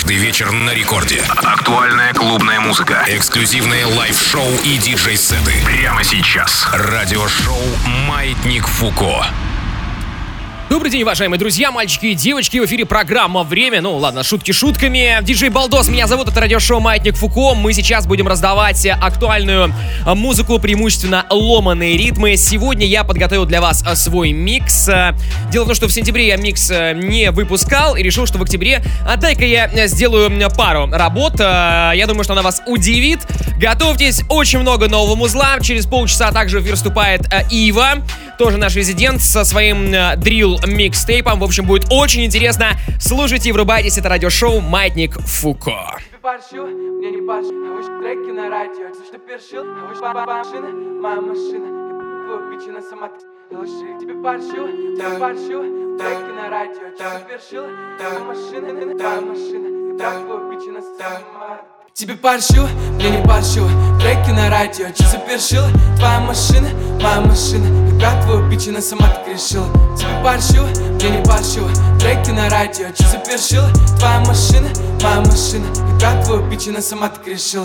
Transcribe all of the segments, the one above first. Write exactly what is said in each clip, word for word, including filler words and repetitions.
Каждый вечер на рекорде. Актуальная клубная музыка, эксклюзивные лайв-шоу и диджей-сеты. Прямо сейчас. Радиошоу «Маятник Фуко». Добрый день, уважаемые друзья, мальчики и девочки. В эфире программа «Время». Ну, ладно, шутки шутками. Диджей Балдос, меня зовут, это радиошоу «Маятник Фуко». Мы сейчас будем раздавать актуальную музыку, преимущественно ломаные ритмы. Сегодня я подготовил для вас свой микс. Дело в том, что в сентябре я микс не выпускал и решил, что в октябре, а дай-ка я сделаю пару работ. Я думаю, что она вас удивит. Готовьтесь, очень много нового музла. Через полчаса также в эфир вступает Ива, тоже наш резидент, со своим дрилл микстейпом. В общем, будет очень интересно. Слушайте и врубайтесь. Это радиошоу «Маятник Фуко». Мне не парши, а вы треки на радио. Что першил, а вы машина, моя машина. Твой бичина сама лжи. Тебе паршил, тебе паршил, треки на радио. Что першил, моя машина, моя машина. Твой бичина сама. Тебе паршил, мне не паршил, треки на радио. Че запершил, твоя машина, моя машина. И про твою бичина сама так решила. Тебе паршил, мне не паршил, треки на радио. Че запершил, твоя машина, моя машина. И про твою бичина сама так решила.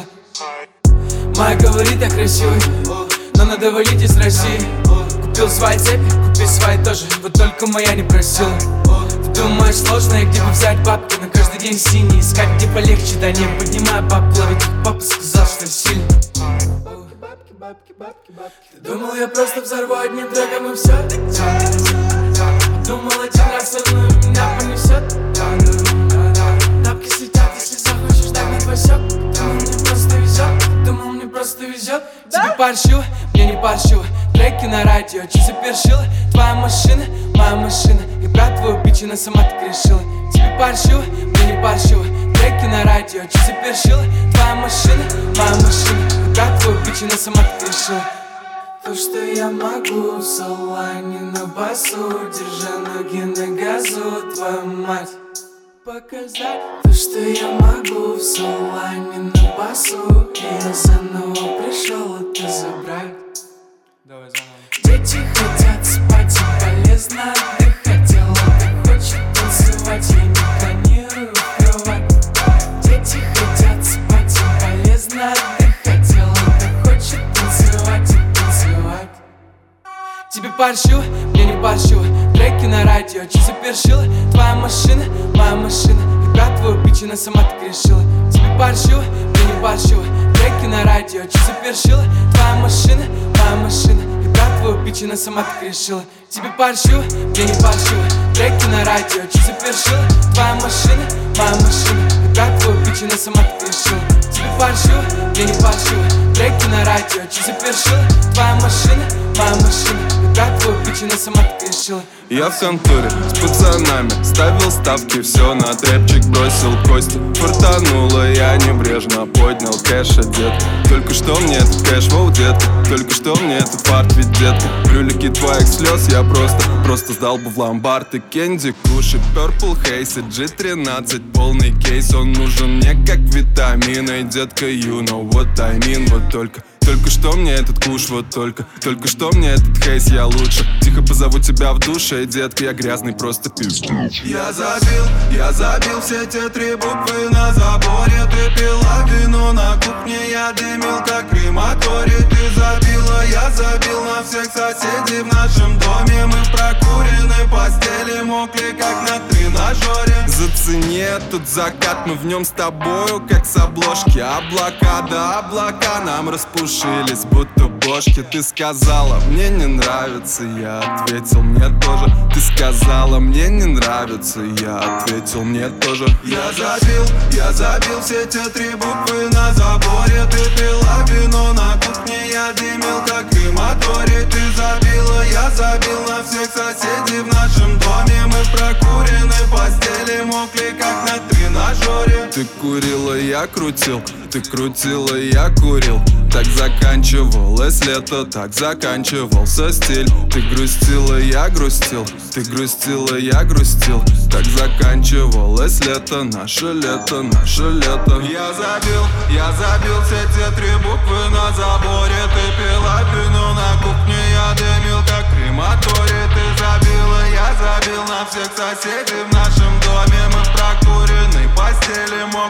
Моя говорит, я красивый, но надо валить из России. Купил свои цепи, купи свои тоже, вот только моя не просила. Думаешь, сложно, и где бы взять бабки? На каждый день синий, искать где полегче. Да не поднимай бабки, ловить, папа сказал, что сильно. Бабки, бабки, бабки, бабки. Ты думал, я просто взорву одним треком и все? Думал, один раз одну и меня понесет. Тапки светят, если захочешь догнать Васек. Думал, мне просто везет, думал, мне просто везет. Тебе паршил, мне не паршил, треки на радио. Че запершила, твоя машина, моя машина. И про твою бичина сама так решила. Тебе паршил, мне не паршил, треки на радио. Че запершила, твоя машина, моя машина. И про твою бичина сама так решила. То, что я могу в салоне на басу, держа ноги на газу, твою мать показать. То, что я могу в салоне на басу, и я заново пришел это забрать. Давай заново. Дети хотят спать и полезно отдыхать. Тело так хочет танцевать, я не планирую кровать. Дети хотят спать и полезно отдыхать. Тело так хочет танцевать и танцевать. Тебе паршил, мне не паршил, треки на радио. Че запершила, твоя машина, моя машина. И про твою бичина сама так решила. Тебе паршил, мне не паршил, треки на радио. Че запершила, твоя машина, моя машина. И про твою бичина сама так решила. Тебе паршил, мне не паршил, треки на радио. Че запершила, твоя машина, моя машина. И про твою бичина сама так решила. Тебе паршил, мне не паршил, треки на радио. Че запершила, твоя машина, моя машина. И про твою бичина сама так решила. Я в конторе с пацанами ставил ставки, все на трэпчик бросил кости. Фартануло, я небрежно поднял кэш, одет. Только что мне этот кэш, воу, детка. Только что мне этот фарт, ведь детка. Крюлики твоих слез я просто, просто сдал бы в ломбард. И Кенди, Куши, Purple Haze, джи тринадцать, полный кейс. Он нужен мне как витамины, детка, you know what I mean. Вот только Только что мне этот куш, вот только Только что мне этот хейс, я лучше. Тихо позову тебя в душе, детка, я грязный просто пиздец. Я забил, я забил все те три буквы на заборе. Ты пила вино на кухне, я дымил как крематорий. Ты забила, я забил на всех соседей в нашем доме. Мы в прокуренной постели мокли как на тренажере. Зацени этот закат, мы в нем с тобою как с обложки. Облака, да облака нам распушились, будто бошки. Ты сказала, мне не нравится, я ответил, мне тоже. Ты сказала, мне не нравится, я ответил, мне тоже. Я забил, я забил все те три буквы на заборе. Ты пила вино на кухне, я дымил как крематорий. Ты забила, я забил на всех соседей в нашем доме. Мы в прокуренной постели мокли как на тренажере. Ты курила, я крутил, ты крутила, я курил. Так заканчивалось лето, так заканчивался стиль. Ты грустила, я грустил, ты грустила, я грустил. Так заканчивалось лето, наше лето, наше лето. Я забил, я забил все те три буквы на заборе. Ты пила вино на кухне, я дымил как крематорий. Ты забила, я забил на всех соседей в нашем доме. Мы в прокуренной постели,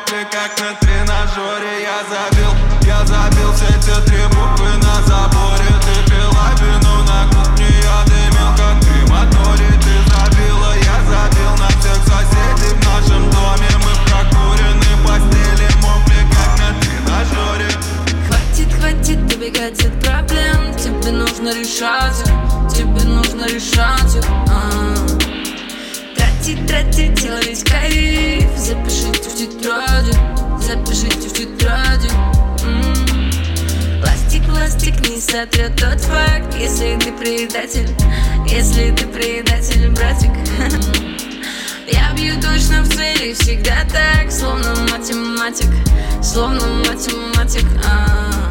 не сотрет тот факт. Если ты предатель, если ты предатель, братик. Я бью точно в цели, всегда так, словно математик, словно математик. А-а-а.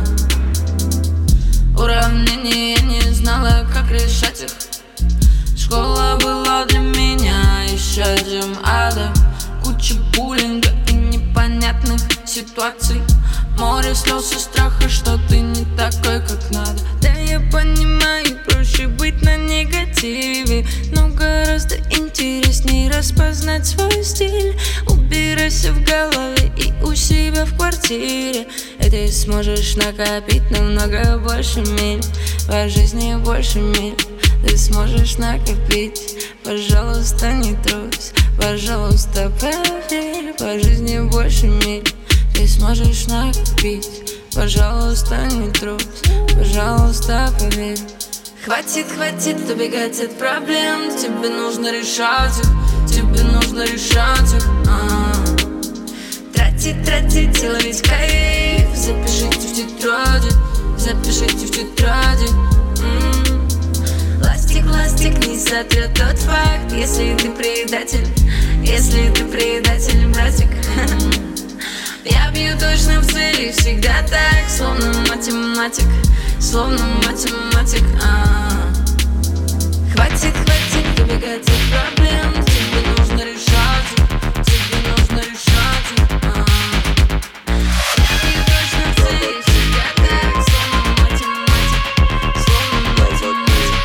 Уравнения я не знала, как решать их. Школа была для меня исчадием ада. Куча буллинга и непонятных ситуаций. Море слез и страха, что ты не такой, как надо. Да, я понимаю, проще быть на негативе, но гораздо интереснее распознать свой стиль. Убирайся в голове и у себя в квартире, и ты сможешь накопить намного больше миль. По жизни больше миль ты сможешь накопить. Пожалуйста, не трусь, пожалуйста, поверь. По жизни больше миль ты сможешь накопить. Пожалуйста, не трусь, пожалуйста, поверь. Хватит, хватит убегать от проблем. Тебе нужно решать их, тебе нужно решать их. А-а-а. Тратить, тратить и ловить кайф. Запишите в тетради, запишите в тетради. М-м. Ластик, ластик не сотрет тот факт. Если ты предатель, если ты предатель, братик. Я бью точно в цели, всегда так, словно математик, словно математик. А-а-а. Хватит, хватит убегать от проблем. Тебе нужно решать их, тебе нужно решать их. А-а-а. Я бью точно в цели, всегда так, словно математик, словно математик.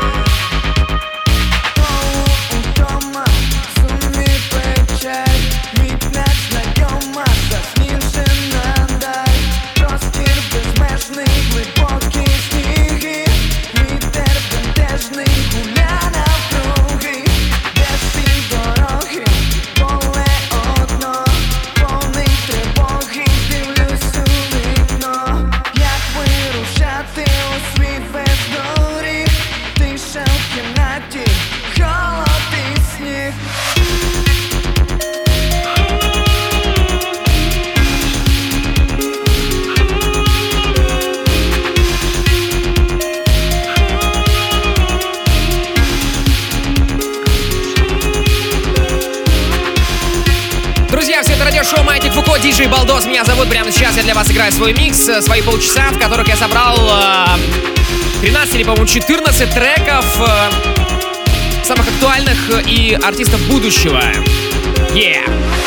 У дома сумми печаль, мітнеш знайома, засніжена даль. Простір безмежний, глибокі сніги, вітер бентежний гуля навкруги. Без півдороги, поле одно, повний тривоги, дивлюсь у вікно. Як вирушати у свій бездоріг, тиша в кімнаті, холод і сніг. Друзья, все это радиошоу Маятник Фуко, диджей Балдос. Меня зовут. Прямо сейчас я для вас играю свой микс, свои полчаса, в которых я собрал э, тринадцать или, по-моему, четырнадцать треков э, самых актуальных и артистов будущего. Yeah!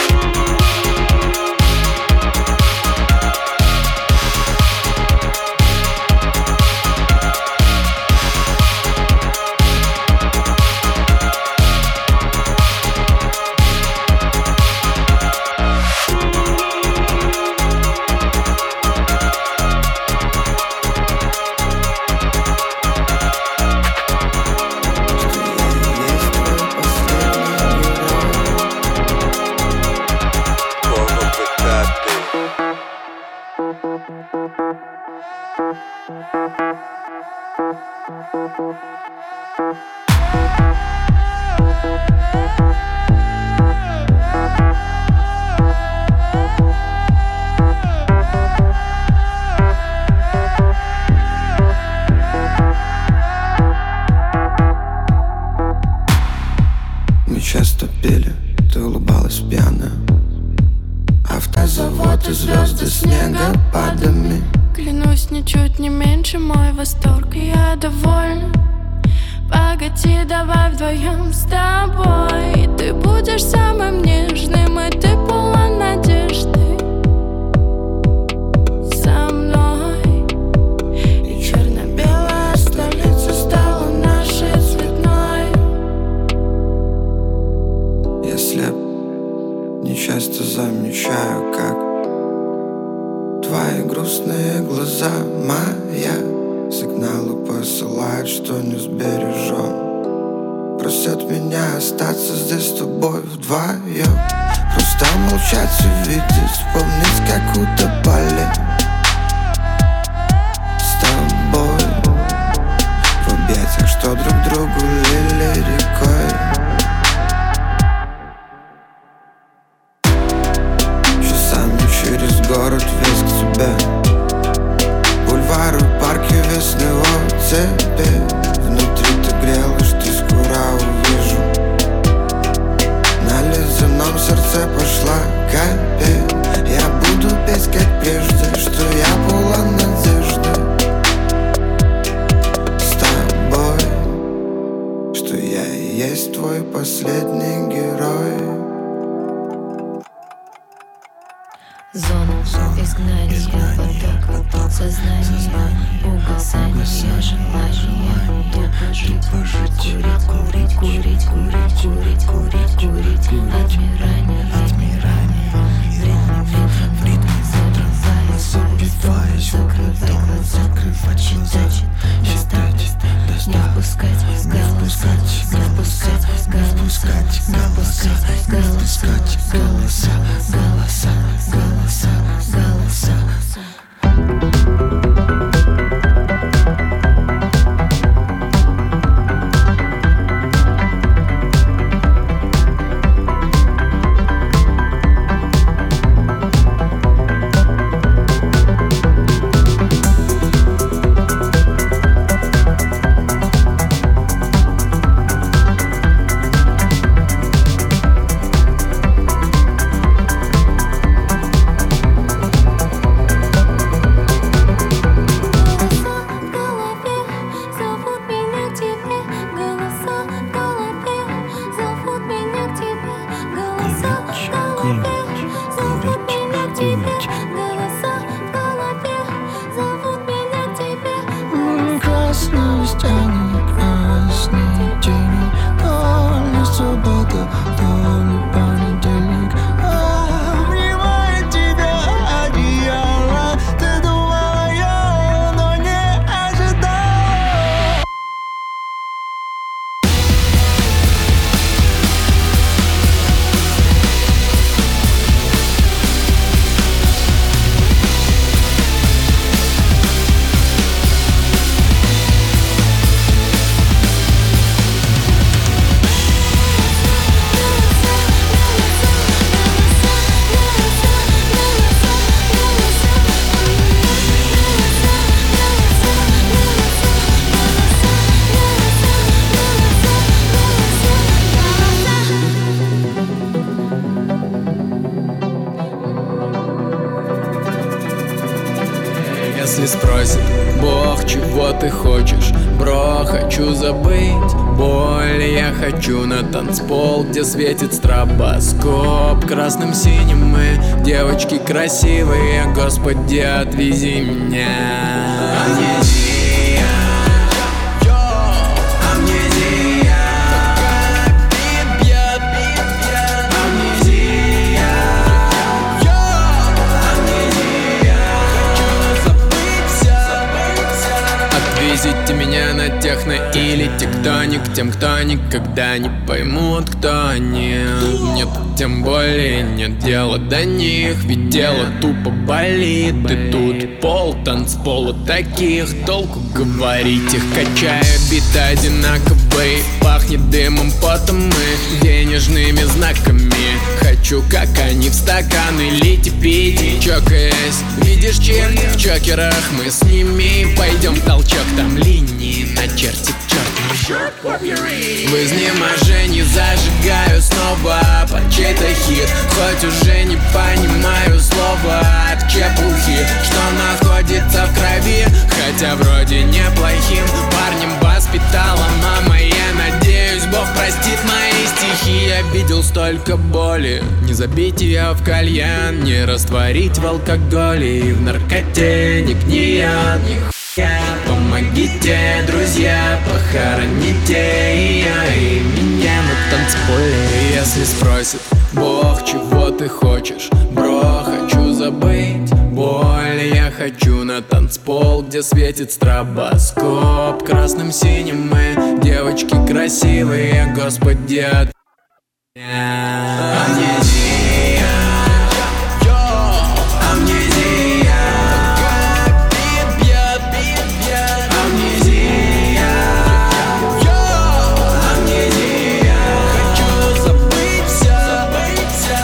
Мы часто пели, ты улыбалась пьяная. Автозавод и звезды снегопадами. Клянусь, ничуть не меньше мой восторг, и я довольна. Погоди, давай вдвоем с тобой. Ты будешь самым нежным, и ты полон надежды. Со мной. И черно-белая столица стала нашей цветной. Я слеп, не часто замечаю, как твои грустные глаза моя сигналы посылают, что не сбережем. Просят меня остаться здесь с тобой вдвоем. Просто молчать и видеть, вспомнить, как утопали с тобой в объятиях, что друг другу лили рекой. Часами через город весь к тебе. Бульвары, парки, весь себе. Внутри ты грелась, что скоро увижу. На ледяном сердце пошла капель. Я буду петь как прежде, что я полон надежды. С тобой, что я и есть твой последний герой. Зона изгнания, поток сознания, угасание желания. Тупо жить, курить, курить, курить, курить, курить, курить, курить, курить. Отмирание, отмирание. В ритме ветра забиваясь, закрывай глаза, закрывать читать, считать, не впускать голоса, не впускать голоса, не впускать голоса, голоса, голоса, голоса, голоса. Если спросит Бог, чего ты хочешь, бро, хочу забыть боль. Я хочу на танцпол, где светит стробоскоп. Красным синим мы, девочки красивые, Господи, отвези меня. Амнезия, амнезия, такая бьет, бьет, амнезия, амнезия. Хочу забыть все, отвезите меня на техно или тектоник. Тем, кто никогда не поймут, кто они. Нет, тем более нет дела до них, ведь дело тупо болит. И тут пол танцпола таких, толку говорить. Их качают биты одинаковые, пахнет дымом, потом мы денежными знаками. Хочу, как они, в стаканы лить и пить, чокаясь. Видишь черт в чокерах, мы с ними пойдем в толчок, там линии начертит черт. В изнеможении зажигаю снова по чей-то хит, хоть уже не понимаю слова от чепухи, что находится в крови, хотя вроде неплохим парнем воспитала мама. Я надеюсь, Бог простит мои стихи. Я видел столько боли, не забить ее в кальян, не растворить в алкоголе и в наркоте, не гният, ни хуя. Помогите, друзья, похороните ее и меня на танцполе. Если спросит Бог, чего ты хочешь, бро, хочу забыть боль. Я хочу на танцпол, где светит стробоскоп. Красным синим мы, девочки красивые, Господи, от меня. Амнезия, амнезия, такая бьет, бьет, амнезия, амнезия. Хочу забыть все, забыть все.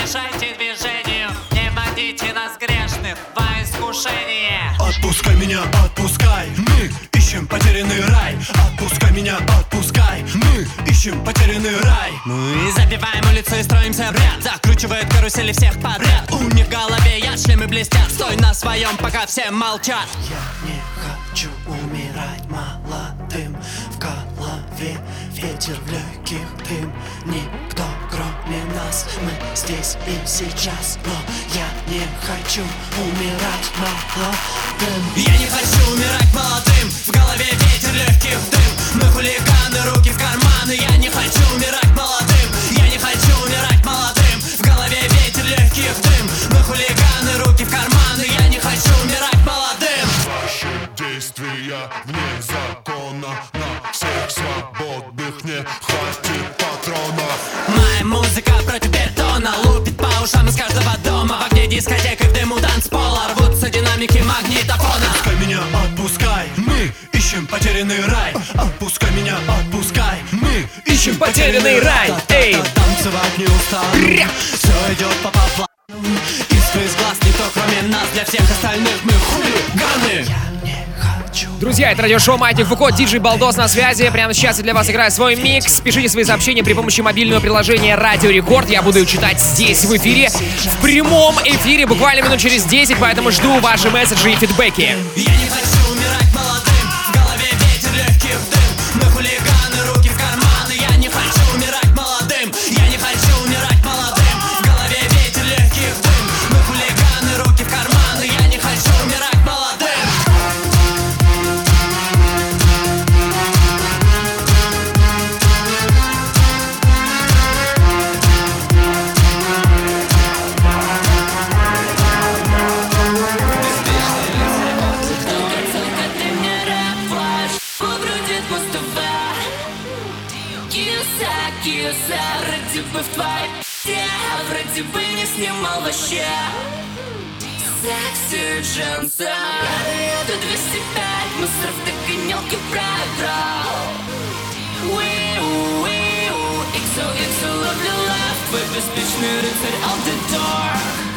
мешайте движению, не водите нас грешных во искушение. Отпускай меня, отпускай, мы ищем потерянный рай. Отпускай меня, отпускай, мы ищем потерянный рай. Мы забиваем улицу и строимся в ряд, закручивают карусели всех подряд. У них в голове яд, шлемы блестят, стой на своем, пока все молчат. Я не хочу умирать молодым. В голове ветер, в легких дым. Никто кроме нас, мы здесь и сейчас. Но я не хочу умирать молодым. Я не хочу умирать молодым. В голове ветер, легких дым. Мы хулиганы, руки в карманы. Я не хочу умирать молодым. Я не хочу умирать молодым. В голове ветер, легких дым. Мы хулиганы, руки в карманы. Я не хочу умирать молодым. Ваши действия вне закона. На всех свободных не хватит патронов. Моя музыка против бетона, лупит по ушам из каждого дома. В огне дискотек и в дыму танцпола рвутся динамики магнитофона. Отпускай меня, отпускай, мы ищем потерянный рай. Отпускай меня, отпускай, мы ищем потерянный рай. Эй, танцевать не устану, все идет по плану. Искры из глаз никто кроме нас, для всех остальных мы хулиганы. Друзья, это радиошоу «Маятник Фуко», диджей Балдос на связи. Прямо сейчас я для вас играю свой микс. Пишите свои сообщения при помощи мобильного приложения «Радио Рекорд». Я буду их читать здесь, в эфире, в прямом эфире, буквально минут через десять, поэтому жду ваши месседжи и фидбэки. Я не хочу умирать молодым, в голове ветер, легких дым. Мы хулиганы, руки в карманы. Я не хочу умирать молодым, я не хочу умирать молодым. В голове ветер, легких дым. Мы хулиганы, руки в карманы. Я не хочу умирать молодым. Вроде бы в твоей пи***е, вроде бы не снимал вообще. Секси джинсы. Это двести пять мусоров, догонялки проиграл. Уиу, уиу, икс о икс о, love you love. Твой беспечный рыцарь out the door.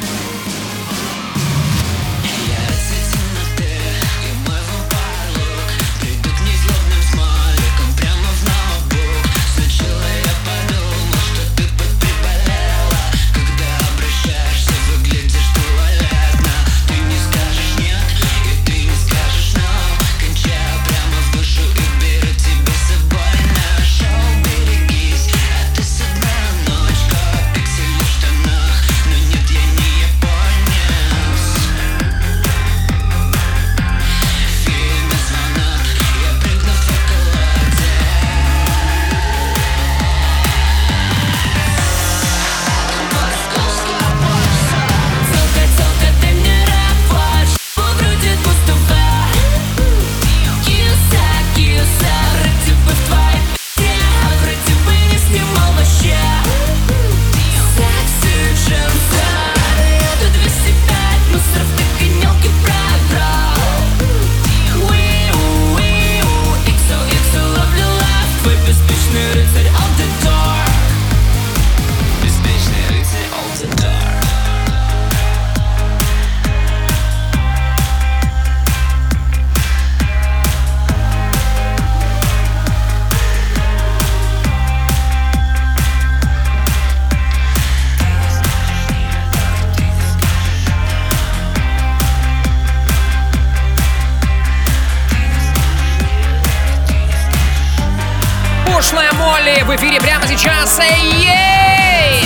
В эфире прямо сейчас. Эй-ей!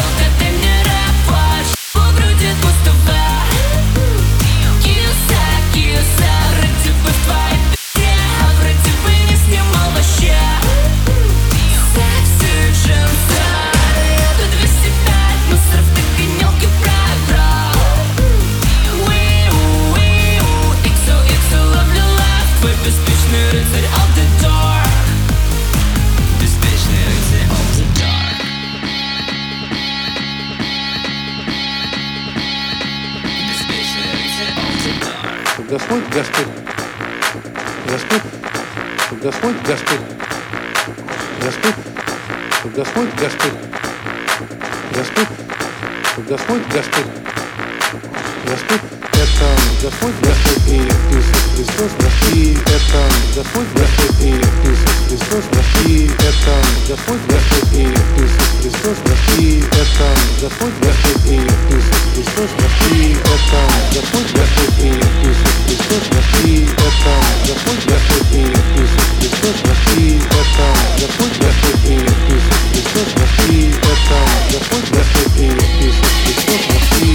Господь, Господь, Господь, Господь, Господь, Господь, Господь, Господь, Господь, Господь, Господь, Господь, это Господь, Господь и Иисус Христос, и это Господь, Господь и Иисус Христос, и это Господь, Господь и Иисус Христос, и это Господь, Господь и Иисус Христос, и это Господь, Господь и Иисус Христос, и это Господь, Господь и Иисус Христос, и это Господь, Господь и Иисус Христос, и это Господь, Господь и Иисус Христос, и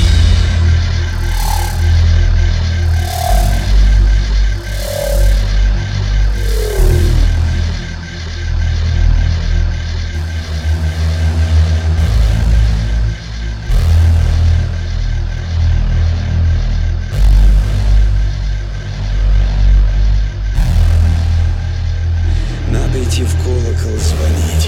Надо идти в колокол звонить.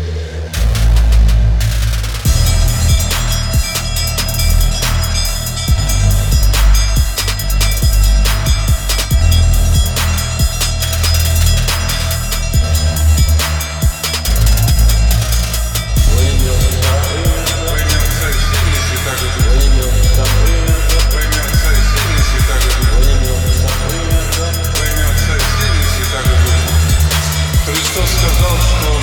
Христос сказал, что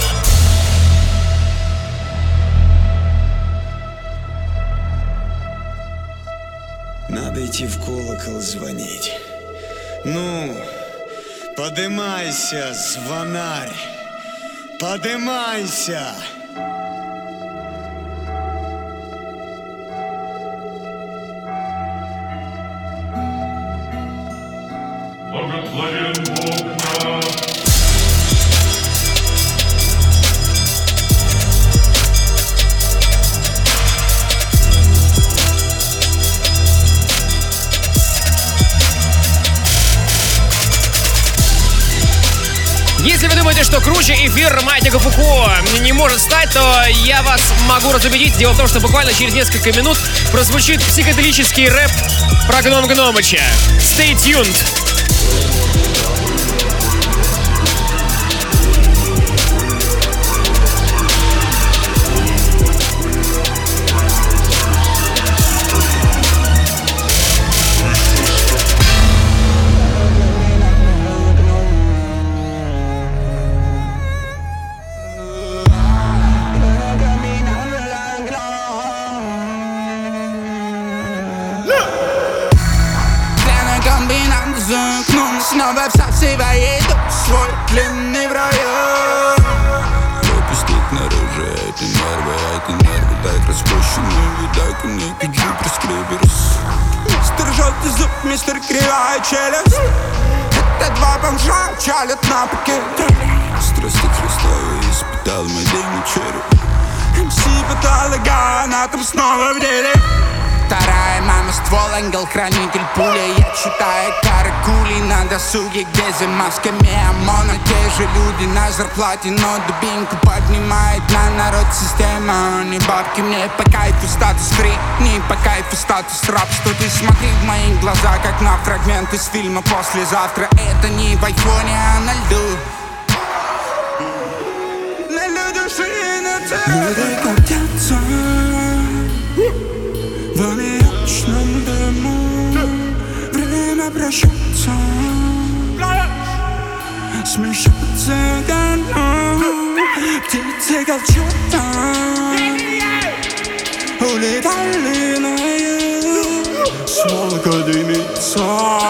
Надо идти в колокол звонить. Ну, подымайся, звонарь, подымайся. благословен Бог наш. Если вы думаете, что круче эфир Маятника Фуко не может стать, то я вас могу разубедить. Дело в том, что буквально через несколько минут прозвучит психоделический рэп про Гном Гномыча. Stay tuned! Снова всасывает свой длинный район. Пропустить наружу эти нервы, эти нервы. Дай распущенную, дай ко мне гидрус клиберс. Мистер желтый зуб, мистер кривая челюсть. Это два бомжа чалят на пакете. Страсти Христовы испытал мой день череп. эм си патологоанатом снова в деле. Вторая мама ствол, ангел-хранитель пуля. Я читаю каракули на досуге, где за масками ОМОНа те же люди на зарплате, но дубинку поднимает на народ система. Не бабки мне по кайфу статус фри, не по кайфу статус рабства. Ты смотри в мои глаза, как на фрагмент из фильма «Послезавтра». Это не в айфоне, а на льду. На льду ширина люди крутятся в аммиачном дыму. Время прощаться, смешаться гону. Птицы голчата улетали на юг. Смолка дымится,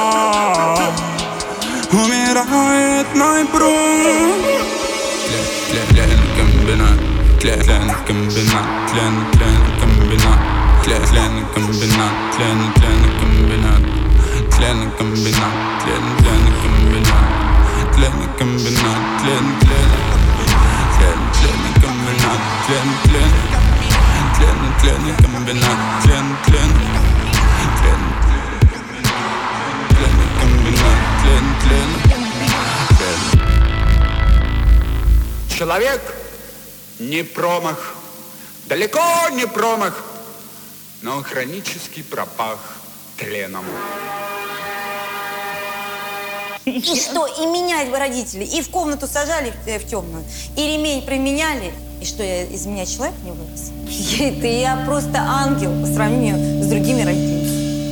умирает мой пруд. Тлен комбинат, тлен комбинат, тлен тлен комбинат. Тлен комбинат, тлен тлен комбинат, тлен комбинат, тлен тлен комбинат, тлен комбинат, тлен тлен, тлен тлен комбинат, тлен тлен, тлен тлен комбинат, тлен тлен, тлен тлен комбинат, тлен тлен. Человек не промах, далеко не промах, но он хронически пропах тленом. И что, и менять бы родители, и в комнату сажали в, в темную, и ремень применяли, И что, я, из меня человек не вырос? Я, это я просто ангел по сравнению с другими родителями.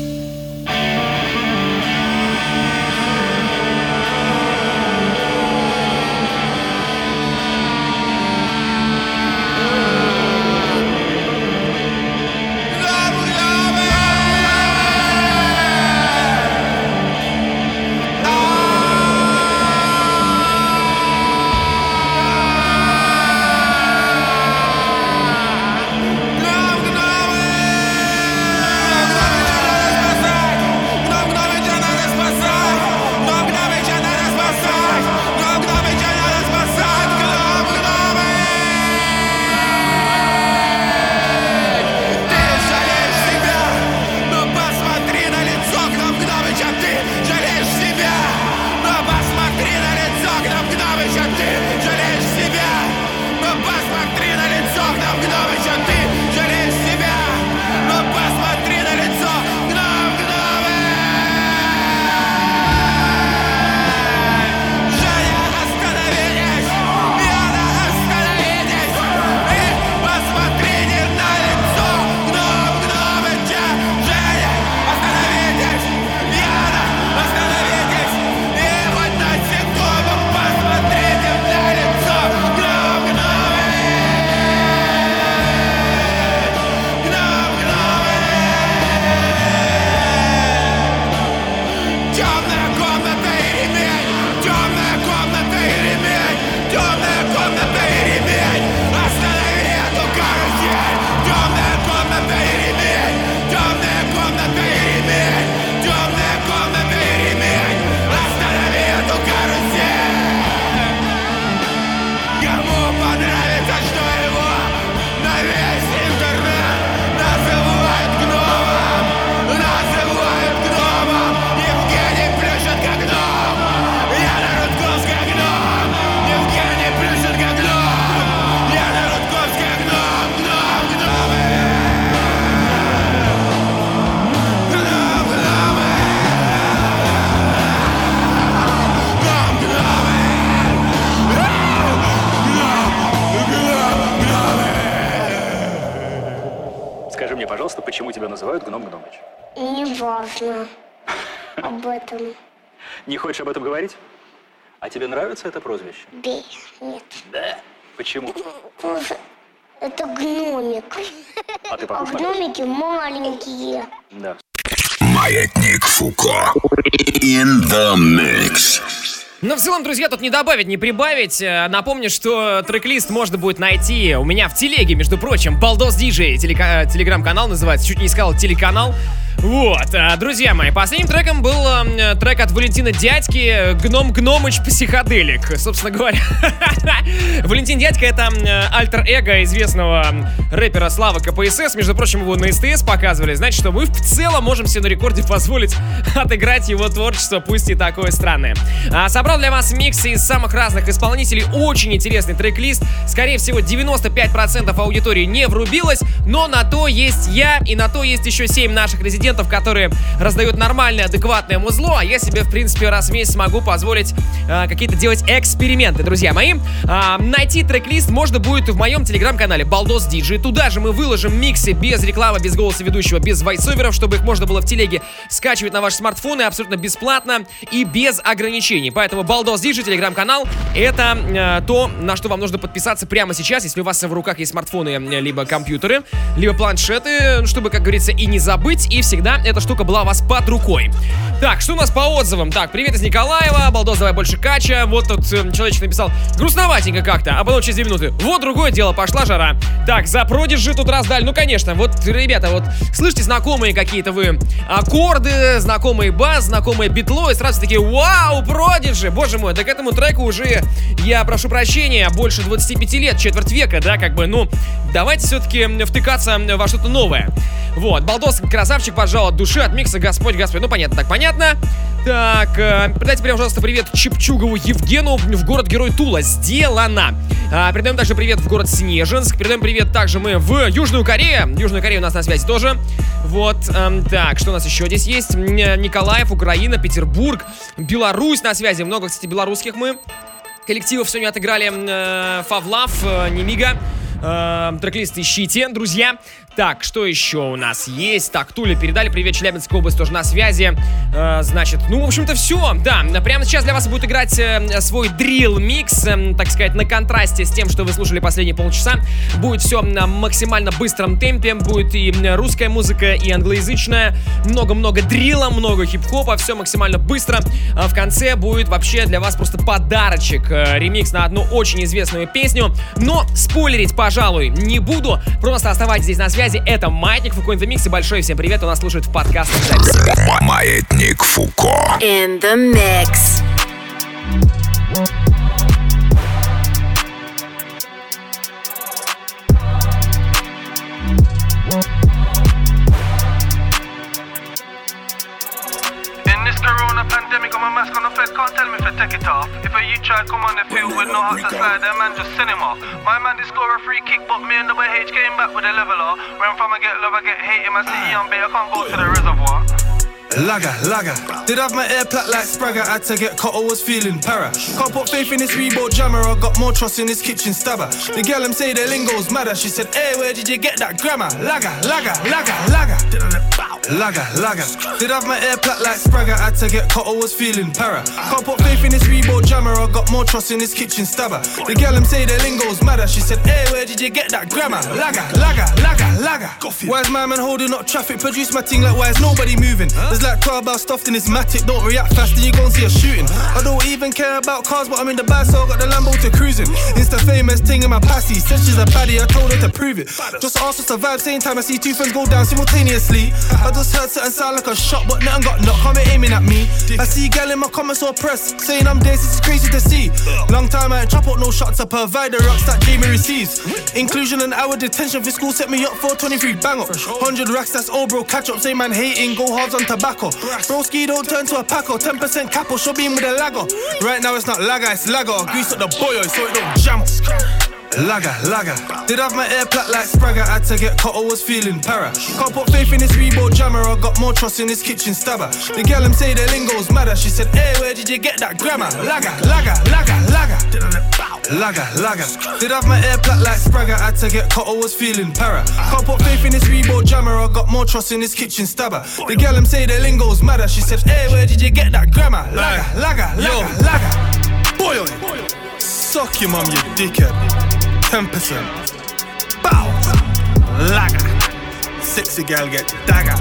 Почему тебя называют Гном Гномыч? Не важно об этом. Не хочешь об этом говорить? А тебе нравится это прозвище? Да, нет. Да? Почему? Это гномик. А ты А похож на гномики маленькие. Да. Маятник Фуко. In the mix. Но в целом, друзья, тут не добавить, не прибавить. Напомню, что трек-лист можно будет найти у меня в телеге, между прочим. Балдос Диджей, телека- телеграм-канал называется. Чуть не сказал телеканал. Вот, друзья мои, последним треком был э, трек от Валентина Дядьки «Гном Гномыч Психоделик». Собственно говоря, Валентин Дядька — это э, альтер-эго известного рэпера Славы КПСС. Между прочим, его на СТС показывали. Значит, что мы в целом можем себе на рекорде позволить отыграть его творчество, пусть и такое странное. А, собрал для вас миксы из самых разных исполнителей. Очень интересный трек-лист. Скорее всего, девяносто пять процентов аудитории не врубилось, но на то есть я, и на то есть еще семь наших резидентов, которые раздают нормальное, адекватное музло, а я себе, в принципе, раз в месяц могу позволить э, какие-то делать эксперименты, друзья мои. Э, найти трек-лист можно будет в моем телеграм-канале Балдос Диджей. Туда же мы выложим миксы без рекламы, без голоса ведущего, без войсоверов, чтобы их можно было в телеге скачивать на ваши смартфоны абсолютно бесплатно и без ограничений. Поэтому Балдос Диджей, телеграм-канал, это э, то, на что вам нужно подписаться прямо сейчас, если у вас в руках есть смартфоны, либо компьютеры, либо планшеты, чтобы, как говорится, и не забыть, и всегда эта штука была у вас под рукой. Так, что у нас по отзывам? Так, привет из Николаева, Балдос, давай больше кача. Вот тут э, человечек написал, грустноватенько как-то, а потом через две минуты, вот другое дело, пошла жара. Так, за Продиджи тут раздали, ну конечно, вот, ребята, вот, слышите знакомые какие-то вы аккорды, знакомые бас, знакомые битло, и сразу такие, вау, Продиджи, боже мой, да к этому треку уже, я прошу прощения, больше двадцати пяти лет, четверть века, да, как бы, ну, давайте все-таки втыкаться во что-то новое. Вот, Балдос, красавчик, пожалуй, от души, от микса, Господь, Господь, ну, понятно, так понятно. Так, э, передайте прямо, пожалуйста, привет Чепчугову Евгену в город-герой Тула. Сделано. А, передаем также привет в город Снежинск. Передаем привет также мы в Южную Корею. Южная Корея у нас на связи тоже. Вот, э, так, что у нас еще здесь есть? Николаев, Украина, Петербург, Беларусь на связи. Много, кстати, белорусских мы коллективов сегодня отыграли. Э, Фавлав, э, Немига. Э, трек-лист ищите, друзья. Так, что еще у нас есть? Так, Туля передали. Привет, Челябинская область тоже на связи. Э, значит, ну, в общем-то, все. Да, прямо сейчас для вас будет играть э, свой дрилл-микс, э, так сказать, на контрасте с тем, что вы слушали последние полчаса. Будет все на максимально быстром темпе. Будет и русская музыка, и англоязычная. Много-много дрилла, много хип-хопа. Все максимально быстро. А в конце будет вообще для вас просто подарочек. Э, ремикс на одну очень известную песню. Но спойлерить, пожалуй, не буду. Просто оставайтесь здесь на связи. Это Маятник Фуко in the Mix. И большой всем привет. У нас слушает в подкастах записи. Маятник Фуко. In the mix. Corona pandemic, on my mask on the fed, can't tell me if I take it off. If a you try come on the field with no hot to slide, that man just send him off. My man did score a free kick, but me and the H came back with a leveler. Ran from I get love, I get hate in my city, I'm bait, I can't go to the reservoir. Laga, laga. Did have my air plat like Spragger, had to get cut, I was feeling para. Can't put faith in this Reebok jammer, I got more trust in this kitchen stabber. The girl them say the lingo's madder, she said, hey, where did you get that grammar? Laga, laga, laga, laga. Laga, laga. Did have my air plat like Spragger, had to get cut, I was feeling para. Can't put faith in this Reebok jammer, I got more trust in this kitchen stabber. The girl them say the lingo's madder, she said, hey, where did you get that grammar? Laga, laga, laga, laga. Why's my man holding up traffic, produce my thing like why is nobody moving? There's like twelve hours stuffed in this matic, don't react fast and you gon' see a shooting. I don't even care about cars, but I'm in the bag, so I got the Lambo to cruising. Insta famous thing in my passy, said she's a baddie, I told her to prove it. Just ask us to vibe, same time I see two friends go down simultaneously. I just heard something sound like a shot, but nothing got knocked, come aiming at me. I see gal in my comments or press, saying I'm days, this is crazy to see. Long time I ain't chop out no shots, I provide the rocks that Jamie receives. Inclusion and hour detention for school set me up for twenty-three bang up. one hundred racks, that's all bro, catch up, say man hating, go hard on tobacco. Broski don't turn to a paco, ten percent capo, show beam with a lago. Right now it's not laga, it's lago. Grease up the boyo so it don't jam. Laga, laga. Did have my air plat like Spragger, had to get cut, I was feeling para. Can't put faith in this Reebok jammer, I got more trust in this kitchen stabber. The girl them say the lingo's madder, she said, hey, where did you get that grammar? Laga, laga, laga, laga. Laga, laga. Did have my air plat like Spragger, had to get cut, I was feeling para. Can't put faith in this Reebok jammer, I got more trust in this kitchen stabber. The girl them say the lingo's madder, she said, hey, where did you get that grammar? Laga, laga, laga, laga. Boy, suck your mum, you dickhead. ten percent. Bow! Laga. Sexy girl get dagger.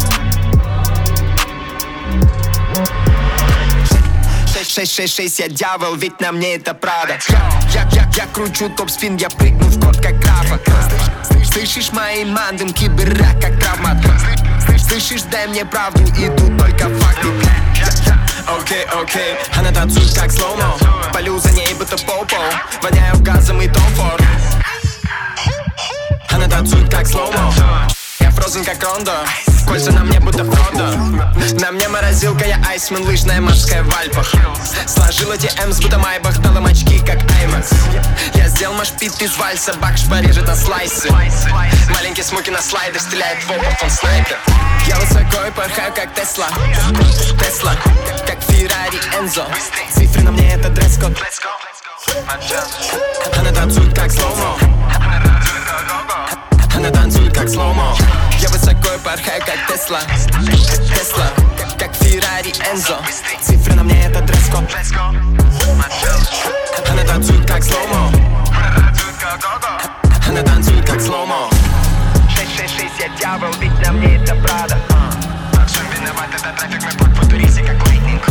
шесть шесть шесть, я дьявол, ведь на мне это Прада. Я, я, я кручу топ-спин, я прыгну в код как графа. Слышишь мои мандым, киберрак как травмат. Слышишь, дай мне правду, и тут только факты. Окей, окей, она танцует как слоумо. Полю за ней, будто попо. Воняю газом и Том Форд. Она танцует как слоумо. Я фрозен как Рондо. Кольца на мне будто Фродо. На мне морозилка, я айсмен, лыжная морская в Альпах. Сложила ди эмс, будто Майбах, дала очки как Аймакс. Я сделал машпит из вальса, бакш порежет на слайсы. Маленький смоки на слайдах, стреляет в опыт, он снайпер. Я высоко и порхаю как Тесла. Тесла, как Феррари Энзо. Цифры на мне это дресс-код. Она танцует как слоумо. Она танцует как слоумо. Я высоко и порхаю как Тесла. Тесла, как Феррари Энзо. Цифры на мне это дресс-код. Она танцует как слоумо. Она танцует как слоумо. шесть шесть шесть, я дьявол, ведь на мне это Прада. Все виноват, это трафик, мы под футуристик как лайтнинг.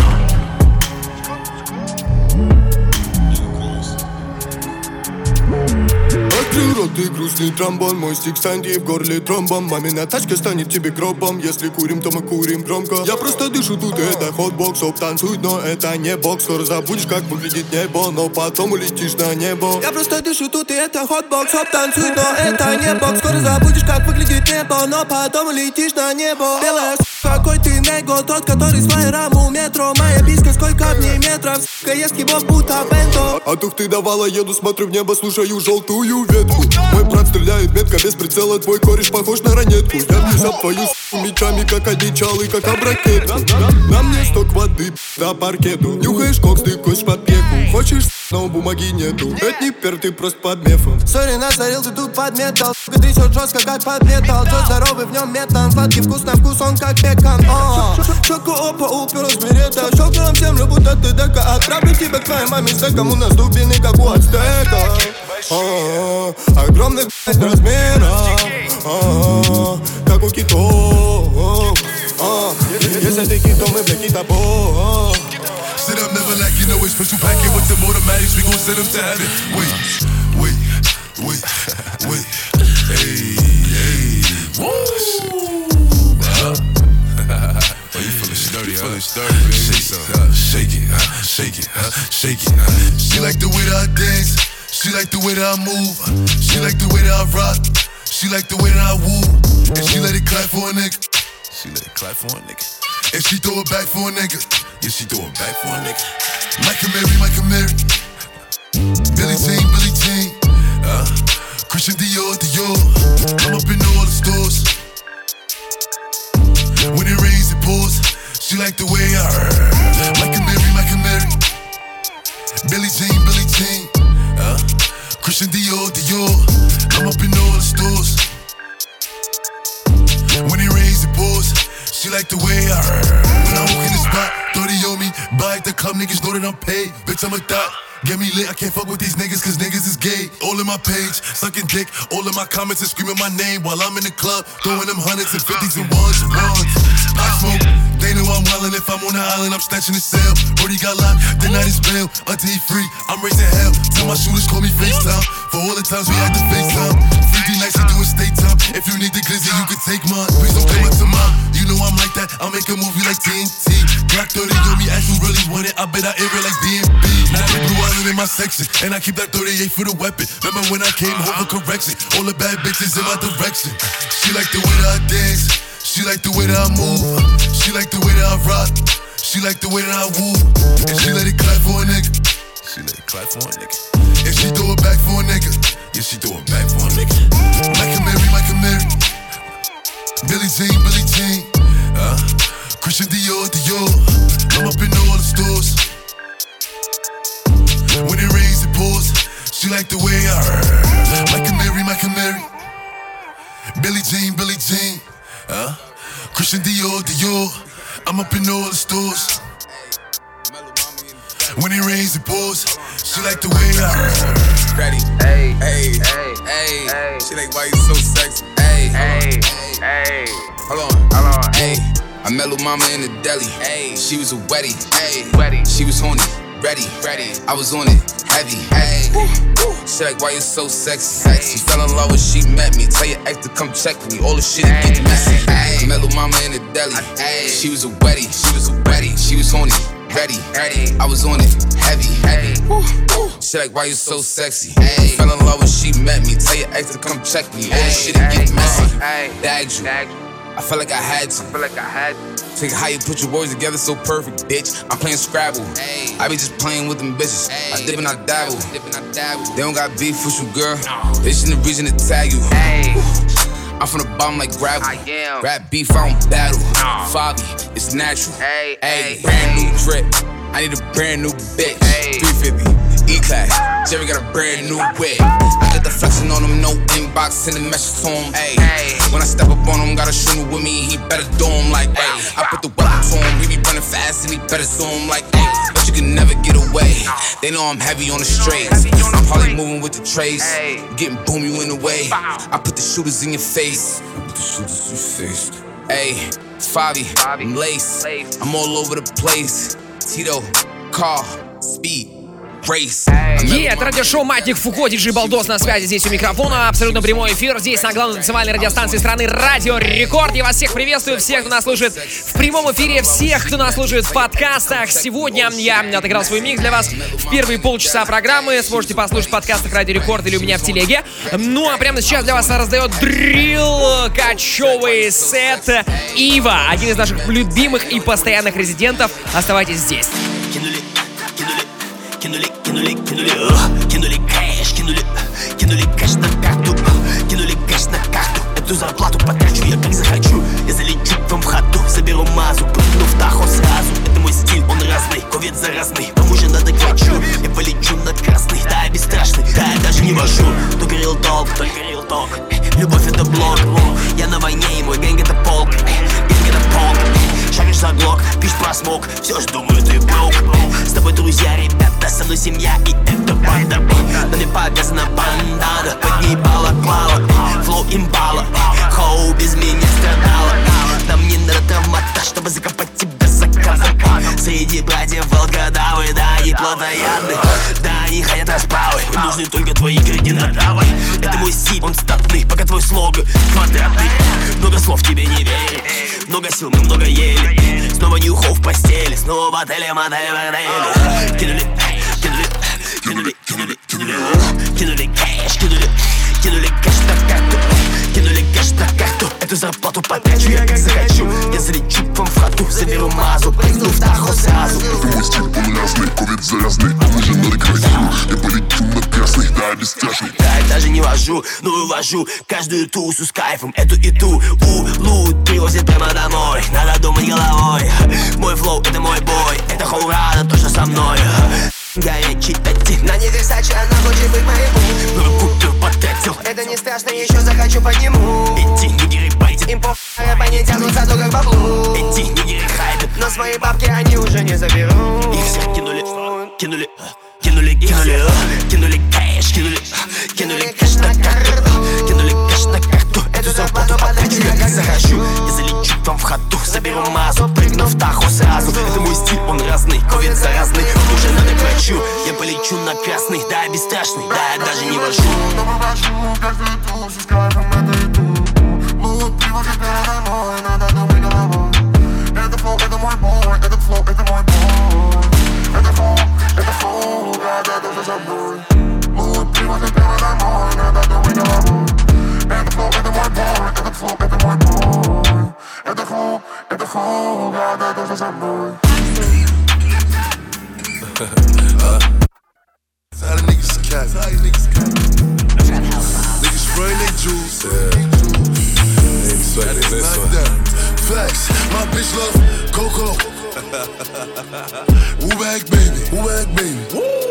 Открыл рот и грустный тромбон. Мой стик Санди в горле тромбом. Мамина тачка станет тебе гробом. Если курим, то мы курим громко. Я просто дышу тут, это хотбокс. Оп, танцует, но это не бокс. Скоро забудешь, как выглядит небо, но потом улетишь на небо. Я просто дышу тут, и это хотбокс. Оп, танцует, но это не бокс. Скоро забудешь, как выглядит небо, но потом улетишь на небо. Белая с***, какой ты него, тот, который с флайером у метро. Моя писка, сколько в ней метров, с***ка, ест его будто бенто. А тух ты давала, еду, смотрю в небо, слушаю желтую ветку. Мой брат стреляет метко без прицела, твой кореш похож на ранетку. Я вниз об твою с***у мечами, как одичалый, как об ракетку. На мне сток воды, до паркету. Нюхаешь кокс, ты кось под пеку. Хочешь с***, но бумаги нету. Это не пер, ты просто под мефом. Сори, насорил, ты тут под металл. Трясет жестко, как под металл. Джо здоровый, в нем метан. Сладкий вкус на вкус, он как пекан. Щеку опа, уперлась берета. Щеку нам землю, будто ты дека. Отправлю тебя к твоей маме с деком. У нас дубины, как у ацтека. Огромных размеров, как у китов. Если ты кит, то мы бля китобой. Sit up, never lack, you know it's special packet with them automatics, we gon' send them to heaven. Wait, wait, wait, wait, hey, hey, woo! Uh, oh, you feelin' sturdy, huh? You feelin' sturdy, baby. Shake it, uh, shake it, uh, shake it, uh, shake it. Uh. She like the way that I dance, she like the way that I move, she like the way that I rock, she like the way that I woo, and she let it clap for a nigga, she let it clap for a nigga. And she throw it back for a nigga. Yeah, she throw it back for a nigga. Michael Mary, Michael Mary. Billie Jean, Billie Jean. Uh, Christian Dior, Dior. I'm up in all the stores. When it rains, it pours. She like the way I heard. Michael Mary, Michael Mary. Billie Jean, Billie Jean. Uh, Christian Dior, Dior. I'm up in all the stores. When it rains, it pours. She like the way I heard. When I walk in the spot, thirty on me. Buy at the club, niggas know that I'm paid. Bitch, I'm a thot. Get me lit, I can't fuck with these niggas, cause niggas is gay. All in my page, sucking dick. All in my comments and screaming my name while I'm in the club. Throwing them hundreds and fifties and ones and ones. I smoke, they know I'm wildin'. If I'm on the island, I'm snatching the cell. Brody got locked, the night is bail. Until he free, I'm raising hell. Tell my shooters, call me FaceTime. For all the times we had to FaceTime. three D nights, we doing state time. If you need the glizzy, you can take mine. Please don't come up to mine. You know I'm like that, I'll make a movie like T N T. Glock thirty on me, ask who really want it. I bet I air it like D M B. Now they blue island in my section, and I keep that thirty-eight for the weapon. Remember when I came home for correction? All the bad bitches in my direction. She like the way that I dance, she like the way that I move, she like the way that I rock, she like the way that I woo, and she let it clap for a nigga. She let it clap for a nigga, and she throw it back for a nigga. Yeah, she throw it back for a nigga. Michael Mary, Michael Mary. Billie Jean, Billie Jean. Uh, Christian Dior, Dior. I'm up in all the stores. When it rains, it pours. She like the way I heard. Michael Mary, Michael Mary. Billie Jean, Billie Jean. Uh, Christian Dior, Dior. I'm up in all the stores. When it rains, it pours. She like the way I heard. Ready? Hey, hey, hey, hey. She like, why you so sexy? Hey, hey, hey. Hold on, hold on. Hey, I met Lil Mama in the deli. Hey, she was a wetty. Hey, wetty. She was horny, ready, ready. I was on it, heavy. Hey, she like, why you so sexy? Sexy. Fell in love when she met me. Tell your ex to come check me. All the shit it gets messy. Hey, I met Lil Mama in the deli. Hey, she was a wetty. She was a wetty. She was horny. Ready, ready, I was on it, heavy, heavy. She like, why you so sexy? Ay. Fell in love when she met me. Tell your ex to come check me. All the shit it get messy. Bagged you. I felt like I had to. I feel like I had to. Think how you put your words together so perfect, bitch. I'm playing Scrabble. Ay. I be just playing with them bitches. Ay. I dip and I dabble. Dip and I dabble. They don't got beef with you, girl. No. They shouldn't reason to tag you. Ay. I'm from the bottom like gravel. I am. Rap beef, I don't battle. No. Foggy, it's natural. Hey, hey, brand hey. new drip. I need a brand new bitch. Hey. three fifty, E-Class. Jerry got a brand new whip. I got the flexing on him, no inbox, sending messages to him. Hey. Hey. When I step up on him, got a shooter with me, he better do him like, hey. I put the weapon to him, he be running fast and he better sue him like, hey. But you can never get away. They know I'm heavy on the straights. I'm probably moving with the trays. Getting boom, you in the way. I put the shooters in your face. I put the shooters in your face. Hey, it's Favi, I'm Lace. I'm all over the place. Tito, car, speed. Е, это радиошоу «Маятник Фуко», диджей Балдос на связи здесь у микрофона. Абсолютно прямой эфир здесь на главной танцевальной радиостанции страны Радио Рекорд. Я вас всех приветствую, всех, кто нас слушает в прямом эфире, всех, кто нас слушает в подкастах. Сегодня я отыграл свой микс для вас в первые полчаса программы. Сможете послушать в подкастах Радио Рекорд или у меня в телеге. Ну а прямо сейчас для вас раздает дрилл кочевый сет Ива, один из наших любимых и постоянных резидентов. Оставайтесь здесь. Кинули, кинули, кинули, о, кинули кэш, кинули, кинули кэш на карту, кинули кэш на карту. Эту зарплату потрачу я как захочу. Я залечу к вам в хату, соберу мазу, прыгну в тахо сразу. Это мой стиль, он разный, ковид заразный, кому же надо хочу. Я полечу на толк, только real talk. Любовь это блок, я на войне и мой гэнг это полк. Гэнг это полк, шаришь за глок, пишешь про смог, все ж думаю ты брок. С тобой друзья, ребята, со мной семья и это банда. Но мне показана бандана, под ней балаклава, флоу имбала, хоу без меня страдала. Нам не надо травмата, чтобы закопать тебя заказом. Среди братьев волкодавы, да, они плотоядны, да, они хотят расправы. Им нужны только твои координаты. Это мой стиль, он статный, пока твой слоган квадратный. Много слов тебе не верю, много сил мы много ели. Снова нюхов в постели, снова в отеле, мотеле, борделе. Кинули, кинули, кинули, кинули, кинули, кинули кэш, кинули, кинули кэш на карту, кинули кэш на карту. Эту зарплату потрачу я как захочу. Я залечу к вам в хату, заберу мазу, прыгну в Тахо сразу. Это мой стиль, он разный, ковид завязный. Уже надо красивый, я полечу на красный, да, бесстрашный. Да, я даже не вожу, но вывожу каждую тусу с кайфом. Эту и ту, улут привозит прямо домой. Надо думать головой, мой флоу это мой бой. Это хоурада, то, что со мной. Горячий тати, на них Версаче, она хочет быть моим. Много купил, потратил. Это не страшно, еще захочу подниму. Эти нигеры байтят, им по рэп они тянутся только к баблу. Эти нигеры хайпят, но свои бабки они уже не заберут. Их всех кинули, кинули, кинули, кинули, кинули кэш, кинули, кинули кэш на карту, кинули кэш на карту. Эту зарплату потрачу я как захочу. Я залечу к вам в хату, заберу мазу, прыгну в Тахо сразу. Это мой стиль, он разный, ковид заразный. Уже надо к врачу, я полечу на красный, да, я бесстрашный, да, я даже не вожу. Но вывожу каждую тусу с кайфом, это и ту. Лут привозит меня домой, надо думать головой. Это флоу, это мой бой, этот флоу, это мой бой. Это флоу, это флоу, да, да, даже забой. Лут привозит меня домой, надо думать головой. Это флоу, это мой бой, этот флоу, это мой бой. Это флоу, это флоу, да, да, даже забой. How the niggas cap? How you niggas cap? Niggas spraying they juice. Yeah. That is not that. Facts. My bitch love Coco. Woo bag baby. Woo bag baby.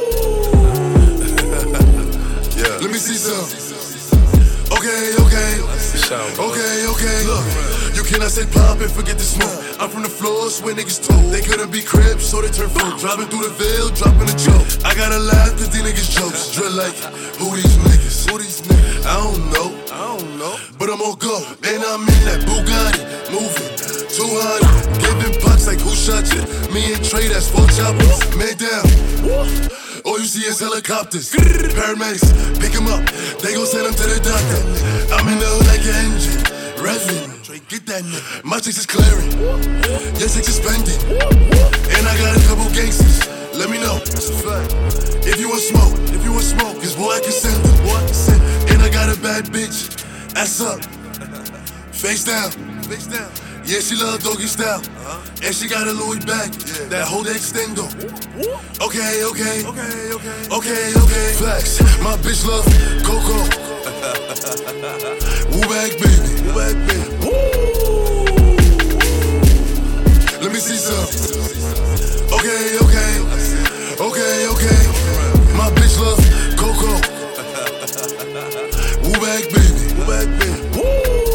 Yeah. Let me see some. Okay, okay. Okay, okay. Look, you cannot say pop and forget the smoke. I'm from the floors where niggas told they couldn't be cribs, so they turn folk. Driving through the veil, dropping a joke. I gotta laugh cause these niggas jokes. Drill like, who these niggas? Who these niggas? I don't know. I don't know. But I'm on go. And I'm in that Bugatti, moving two hundred. Giving pops like who shot you? Me and Trey, that's four choppers. Man down. All you see is helicopters. Paramedics, pick him up. They gon' send him to the doctor. I'm in the hood like an engine. Revving. Get that nigga. My chicks is clearing. Your chicks is spending. And I got a couple gangsters. Let me know. That's a fact. If you want smoke, if you want smoke, cause boy I can send them. Boy I can send them. And I got a bad bitch. Ass up. Face down. Face down. Yeah, she love doggy style. Uh-huh. And she got a Louis bag. Yeah. That whole extendo. Okay, okay. Okay, okay. Okay, okay. Flex. My bitch love Coco. Woo bag baby. Woo bag baby. Woo. Let me see some. Okay, okay. Okay, okay. My bitch love Coco. Woo bag baby. Woo bag baby. Woo.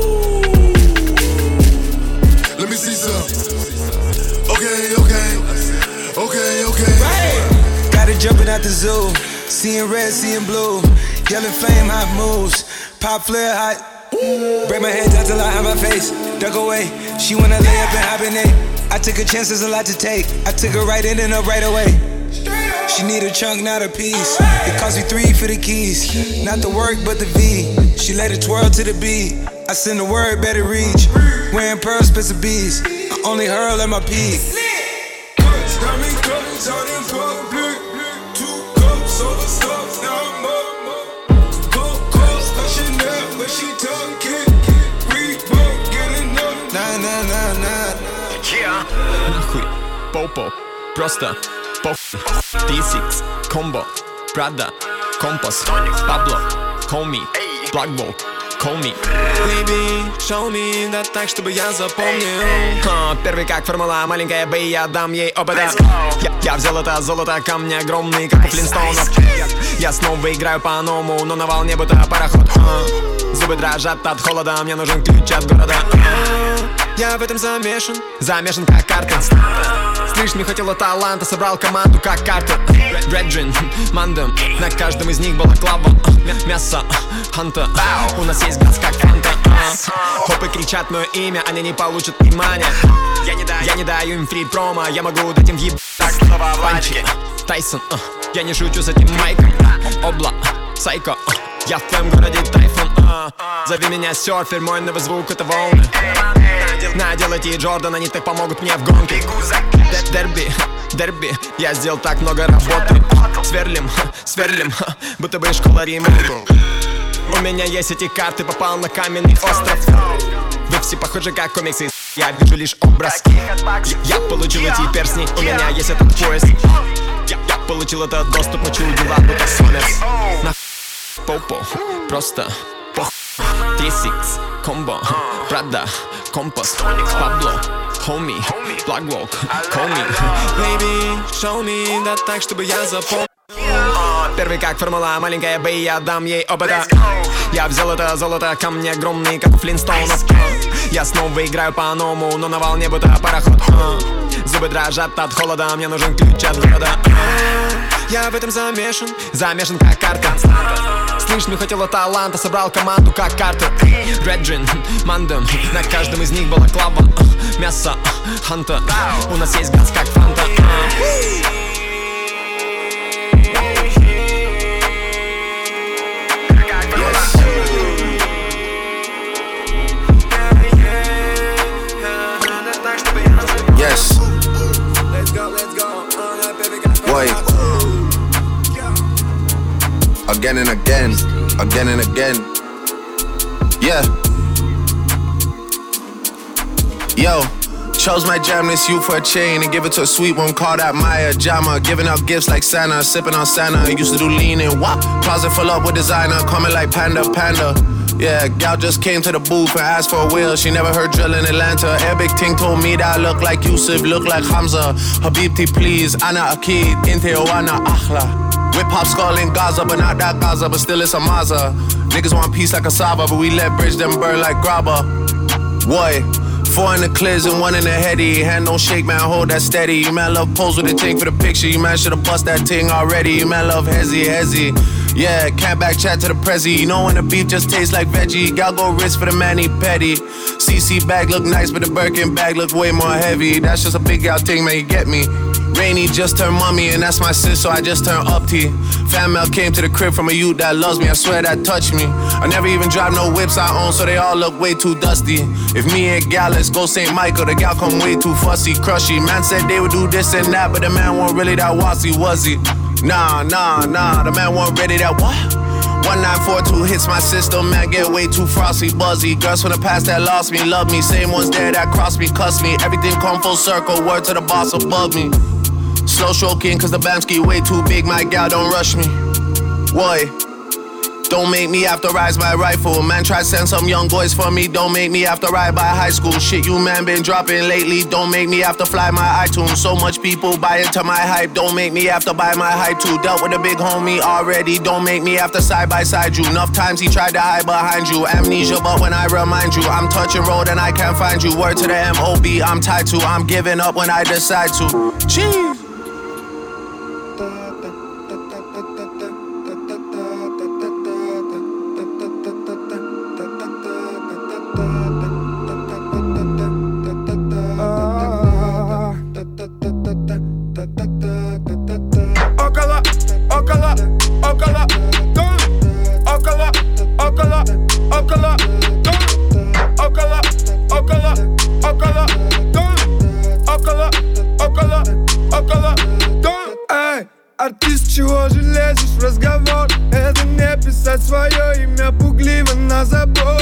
Let me see some. Okay, okay. Okay, okay. Right. Got it jumping out the zoo. Seeing red, seeing blue. Yelling flame, hot moves. Pop flare, hot. Break my head down till I have my face. Duck away. She wanna lay up and hibernate. I took a chance, there's a lot to take. I took her right in and up right away. She need a chunk, not a piece. It cost me three for the keys. Not the work, but the V. She let it twirl to the beat. I send the word, better reach. Wearing pearls, expensive bees. I only hurl at my peak. Two cups over stuff, now I'm up. Cold calls, like Chanel, but she talking. Reebok, get enough. Nah, nah, nah, nah. Yeah. Нахуй, попо, просто поп. T-Six, Combo, Prada, Compass, Pablo, Homie, Blackball, call me. Baby, show me, да так, чтобы я запомнил. а, Первый как формула, маленькая бэй, я дам ей опыта. я, я взял это золото, камни огромные, как у Флинстоунов. Я снова играю по-новому, но на волне будто пароход. а, Зубы дрожат от холода, мне нужен ключ от города. а, Я в этом замешан, замешан как карта. Слышь, мне хватило таланта, собрал команду как карта. Реджин, Мандем, на каждом из них была клава. Мясо, ханта, у нас есть газ как фанта. Хопы кричат мое имя, они не получат внимания. Я не даю, я не даю им фри промо, я могу дать им въеб. Так, слова Владики. Тайсон, uh, я не шучу с этим майком. Обла, сайко, uh, я в твоем городе тайфун. uh, Зови меня серфер, мой новый звук это волны. Надел эти Джордан, они так помогут мне в гонке. Дерби, дерби, я сделал так много работы. Сверлим, сверлим, будто бы школа ремонта. У меня есть эти карты, попал на каменный остров. Вы все похожи как комиксы, я вижу лишь образ. Я получил эти перстни, у меня есть этот пояс. Я, я получил этот доступ, учу дела, будто Сомерс. На попо, просто пох. три сикс, комбо, Прада, компас, Пабло, хоми, Благвок, call me. Baby, show me, да так, чтобы я запомнил. Первый как формула, маленькая бэй, я дам ей опыта. Я взял это золото, камни огромные, как у Флинстоунов. Я снова играю по-новому, но на волне будто пароход. Зубы дрожат от холода, мне нужен ключ от города. Я в этом замешан, замешан как карта. Слышь, мне хватило таланта, собрал команду как карта. Реджин, Мандем, на каждом из них была клава. Мясо, ханта, у нас есть газ как фанта. Yes. Boy. Again and again, again and again. Yeah. Yo. Chose my jam this you for a chain and give it to a sweet one called out Maya Jama. Giving out gifts like Santa, sipping on Santa. Used to do lean and wop. Closet full up with designer, coming like Panda Panda. Yeah, gal just came to the booth and asked for a wheel. She never heard drill in Atlanta. Arabic ting told me that I look like Yusuf, look like Hamza. Habibti please, Ana Akid, Inte Oana Akhla. Whip hop skull in Gaza, but not that Gaza, but still it's a Maza. Niggas want peace like a Saba, but we let bridge them burn like grabba. Boy. Four in the clears and one in the heady. Hand don't shake, man, hold that steady. You man love pose with a ting for the picture. You man should've bust that ting already. You man love hezzy, hezzy. Yeah, can't back chat to the prezi. You know when the beef just tastes like veggie. Gal go wrist for the mani petty. C C bag look nice, but the Birkin bag look way more heavy. That's just a big gal thing, man, you get me. Rainy just turned mommy, and that's my sis, so I just turned up T. Fan mail came to the crib from a youth that loves me, I swear that touched me. I never even drive no whips I own, so they all look way too dusty. If me and gal, let's go Saint Michael, the gal come way too fussy, crushy. Man said they would do this and that, but the man wasn't really that wassy, was he? Nah, nah, nah, the man wasn't ready that what? one nine four two hits my system, man, get way too frosty, buzzy. Girls from the past that lost me, love me. Same ones there that crossed me, cuss me. Everything come full circle, word to the boss above me. Slow stroking, cause the Bamski way too big, my gal don't rush me. Boy, don't make me have to rise my rifle. Man, try send some young boys for me, don't make me have to ride by high school. Shit you man been dropping lately, don't make me have to fly my iTunes. So much people buy into my hype, don't make me have to buy my hype too. Dealt with a big homie already, don't make me have to side by side you. Enough times he tried to hide behind you. Amnesia, but when I remind you, I'm touching road and I can't find you. Word to the M O B, I'm tied to, I'm giving up when I decide to. Jeez. Артист, чего же лезешь в разговор? Это не писать свое имя пугливо на забор.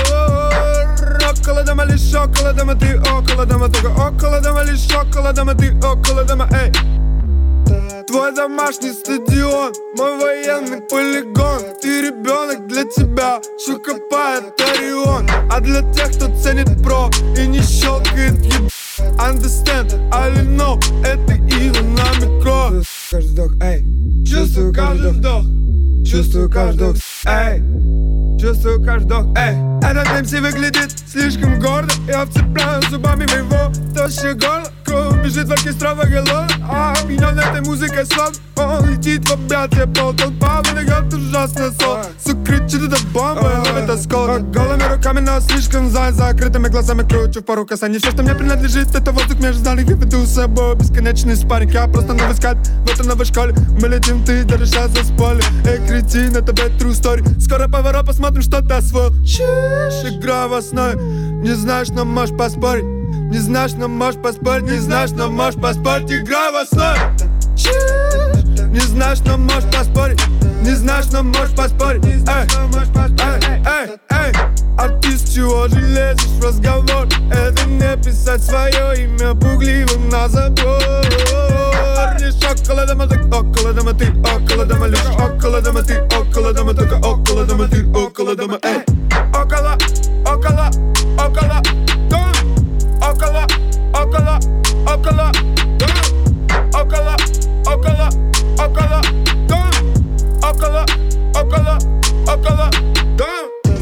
Около дома, лишь около дома, ты около дома, только около дома, лишь около дома, ты около дома, эй. твой домашний стадион, мой военный полигон. Ты ребенок, для тебя все копает Орион. А для тех, кто ценит про и не щелкает еб... Understand, I know, это его на микро. Каждый вдох, эй, чувствую каждый вдох, чувствую каждый вдох, эй, чувствую каждый вдох, эй. Этот эм си выглядит слишком гордо, я вцепляю зубами в его тощее горло. Кровь бежит в оркестровой голове, а меня на этой музыке сон. Он летит в объятия, полтолпа выдает ужасное соло. Сука кричит, это бомба, ловит осколки. Голыми руками, но слишком занят, закрытыми глазами кручу в пару касаний. Все, что мне принадлежит, это воздух между зданий. Я веду с собой бесконечный спарринг. Я просто новый скат в этой новой школе. Мы летим, ты даже сейчас заспорили. Эй, кретин, это бэд true story. Скоро поворот, посмотрим, что ты освоил. Чиш, игра в основе. Не знаешь, но можешь поспорить. Не знаешь, но можешь поспорить. Не знаешь, но можешь поспорить. Игра в основе. Не знаешь, но можешь поспорить. Не знаешь, но можешь поспорить. Эй, эй, эй, эй. Артист, чего же лезешь в разговор? Это не писать свое имя пугливым на забор. Лишь около дома, так около дома ты, около дома. Лишь около дома ты, около дома, только около дома ты, около дома. Эй, около, около, около дома. Около, около, около дома. Около, около, около дома. Около, около, около дома.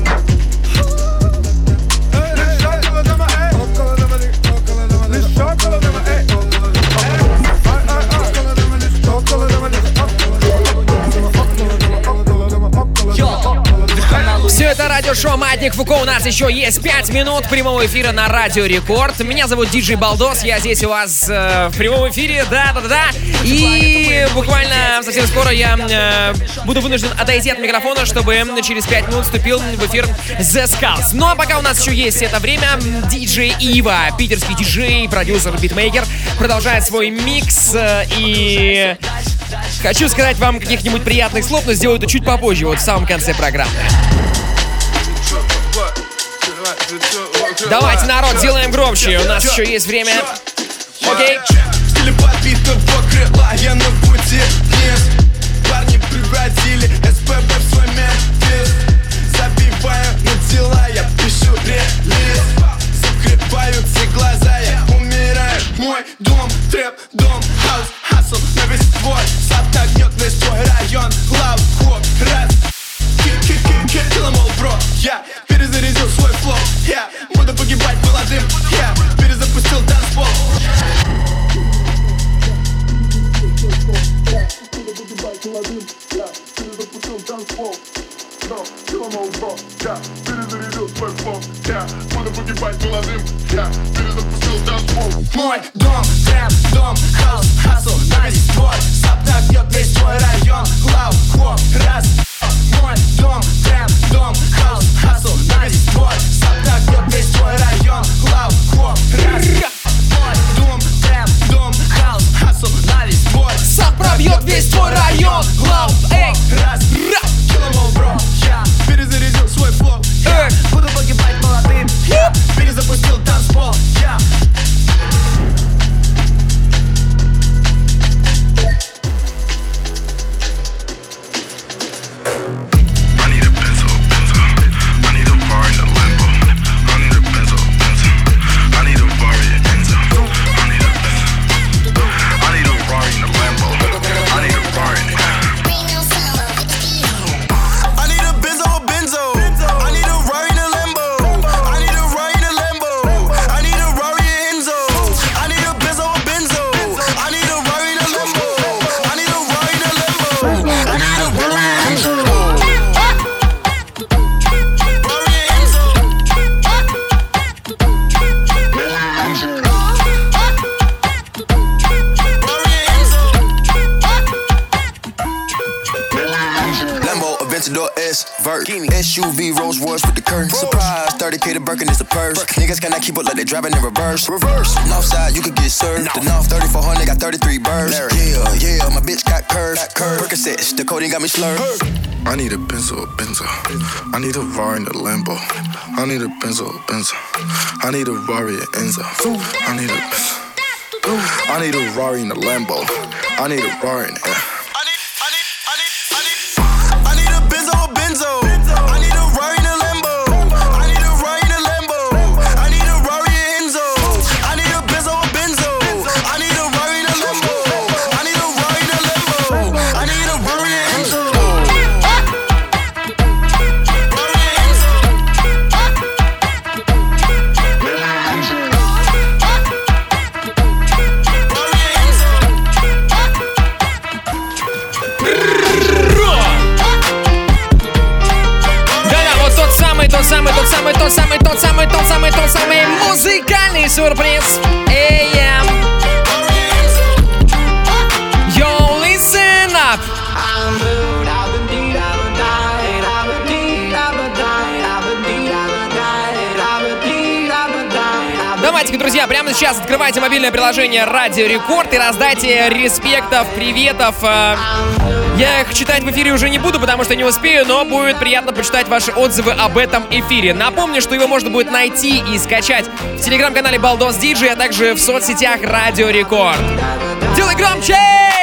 Лишь около дома, эй. Около дома, около дома. Лишь около дома, эй. Около дома, лишь около дома, лишь Все это радиошоу «Маятник Фуко». У нас еще есть пять минут прямого эфира на Радио Рекорд. Меня зовут Диджей Балдос. Я здесь у вас э, в прямом эфире. Да-да-да. И буквально совсем скоро я э, буду вынужден отойти от микрофона, чтобы через пять минут вступил в эфир The Skulls. Ну а пока у нас еще есть это время, диджей Ива, питерский диджей, продюсер, битмейкер, продолжает свой микс. Э, и хочу сказать вам каких-нибудь приятных слов, но сделаю это чуть попозже, вот в самом конце программы. Давайте, народ, делаем громче. У нас еще есть время. Окей. Стиле подбитого крыла, я на пути вниз. Парни превратили СПБ в свой Мемфис. Забиваю на дела, я пишу релиз. Закрываются глаза, я умираю. Мой дом, трэп, дом, хаус, хасл на весь твой. Сотогнет весь твой район. Лав, хоп, раз. Kill em all, bro, я перезарядил свой флоу, я буду погибать молодым, я перезапустил танцпол. Буду погибать молодым, я перезапустил танцпол. Kill em all, bro, я перезарядил свой флоу, я буду погибать молодым, я перезапустил танцпол. Мой дом, трэп, дом, хаус, хасл, на весь твой. Саптак бьет весь твой район, лав, хоп, раз. Мой дом, трэп, дом, хаус, хасл, на весь твой. Саптак бьет весь твой район, лав, хоп, раз. Мой дом, трэп, дом, хаус, хасл, на весь твой. Сап пробьет весь твой район, лав, эй, раз. Kill em all, bro, я перезарядил свой флоу, я буду погибать молодым, я перезапустил танцпол, я. S U V Rolls Royce with the curtains. Surprise, thirty K to Birkin is the purse. Niggas cannot keep up like they driving in reverse. Reverse. Northside, you could get served. The North thirty-four hundred got thirty-three birds. Yeah, yeah, my bitch got curves. Percocets, the codeine got me slurred. I need a Benzo, a Benzo. I need a Rari and a Lambo. I need a Benzo, a Benzo. I need a Rari and Enzo. I need a I need a Rari and a Lambo. I need a Rari and a... I need a Benzo, a Benzo. I need a Rari and a Lambo. I need a Rari and a Lambo. I need a Rari and Enzo. I need a Benzo, a Benzo. I need a Rari and a Lambo. I need a Rari and a Lambo. I need a Rari and Enzo. Тот самый, тот самый, тот самый, тот самый, тот самый, тот самый музыкальный сюрприз. Эй, yeah. Yo, listen up. Давайте-ка, друзья, прямо сейчас открывайте мобильное приложение Радио Рекорд и раздайте респектов, приветов. Я их читать в эфире уже не буду, потому что не успею, но будет приятно почитать ваши отзывы об этом эфире. Напомню, что его можно будет найти и скачать в телеграм-канале Балдос Диджей, а также в соцсетях Радио Рекорд. Делай громче!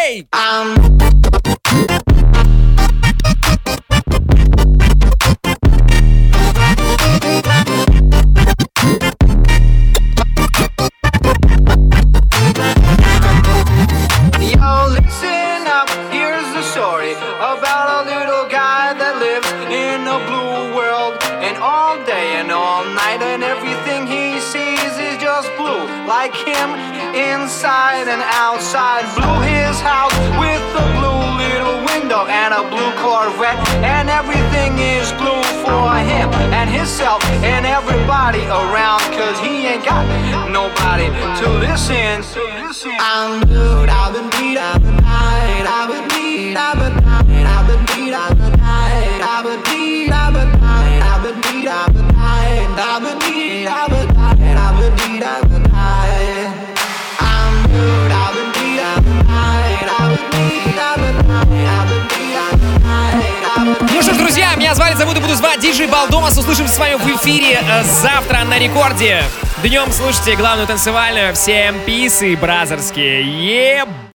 About a little guy that lives in a blue world, and all day and all night, and everything he sees is just blue, like him inside and outside. Blue his house with a blue little window and a blue Corvette, and everything is blue for him and himself and everybody around, cause he ain't got nobody to listen. I'm blue, I've been beat, I've been night, I've been beat, I've been night, I've been beat, I've been night, I've been beat, I've been night, I've been beat, I've been night, I've been beat, I've been night, I've been beat, I've been night. I'm blue, I've been beat, I've been night, I've been beat, I've been night, I've been beat, I've been night. Ну что ж, друзья, меня звали, зовут и буду звать Диджей Балдос. Услышимся с вами в эфире завтра на Рекорде. Днем слушайте главную танцевальную. Всем писы бразерские. Еб!